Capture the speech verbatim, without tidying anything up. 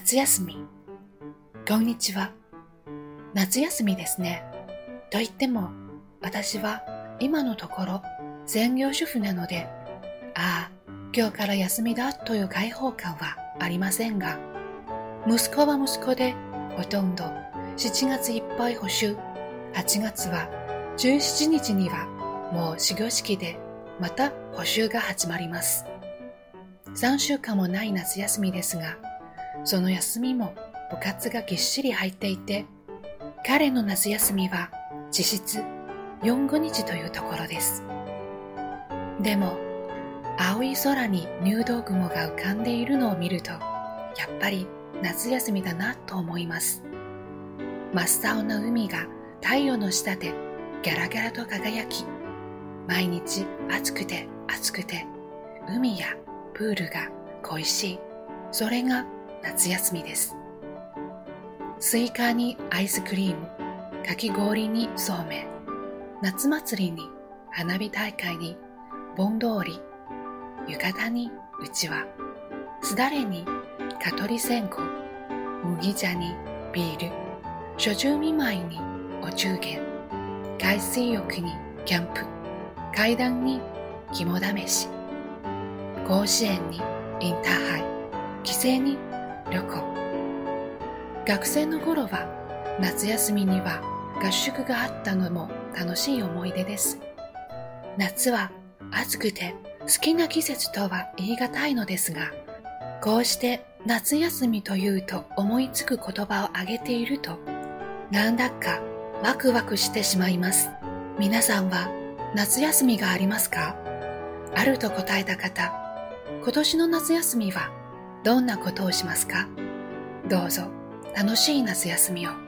夏休み。こんにちは。夏休みですね。と言っても、私は今のところ専業主婦なので、ああ、今日から休みだという解放感はありませんが、息子は息子でほとんどしちがついっぱい補習、はちがつはじゅうしちにちにはもう始業式でまた補習が始まります。さんしゅうかんもない夏休みですが、その休みも部活がぎっしり入っていて、彼の夏休みは実質よんじゅうごにちというところです。でも、青い空に入道雲が浮かんでいるのを見ると、やっぱり夏休みだなと思います。真っ青な海が太陽の下でギャラギャラと輝き、毎日暑くて暑くて、海やプールが恋しい。それが夏休みです。スイカにアイスクリーム、かき氷にそうめん、夏祭りに花火大会に盆通り、浴衣にうちわ、すだれに蚊取り線香、麦茶にビール、初中見舞いにお中元、海水浴にキャンプ、階段に肝試し、甲子園にインターハイ、帰省に旅行。学生の頃は夏休みには合宿があったのも楽しい思い出です。夏は暑くて好きな季節とは言い難いのですが、こうして夏休みというと思いつく言葉を挙げていると、なんだかワクワクしてしまいます。皆さんは夏休みがありますか？あると答えた方、今年の夏休みはどんなことをしますか？どうぞ楽しい夏休みを。